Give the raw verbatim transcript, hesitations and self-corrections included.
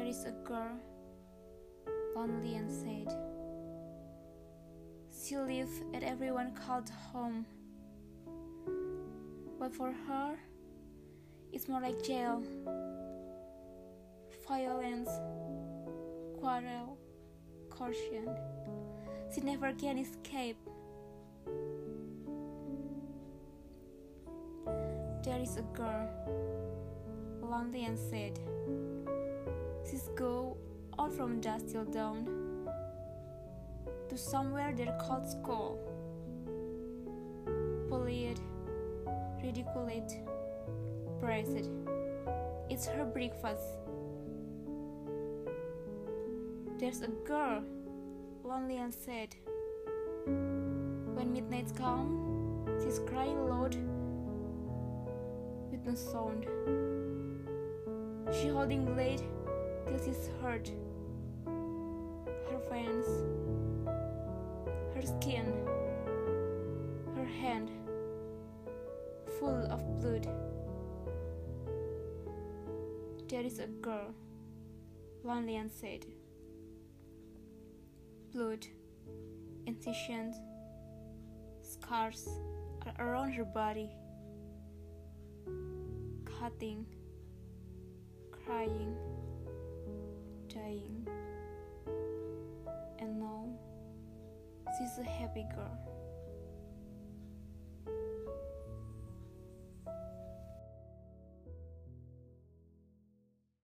is a girl, lonely and sad. She lived at everyone called home, but for her, it's more like jail. Violence, quarrel, caution. She never can escape. There is a girl, lonely and sad. She's go out from dusk till dawn to somewhere they're called school. Bullied, ridiculed, praised. It's her breakfast. There's a girl, lonely and sad. When midnight comes, she's crying loud with no sound. She holding blade till she's hurt. Her veins, her skin, her hand full of blood. There is a girl, lonely and sad. Blood, incisions, scars are around her body. Cutting, crying, dying. And now she's a happy girl.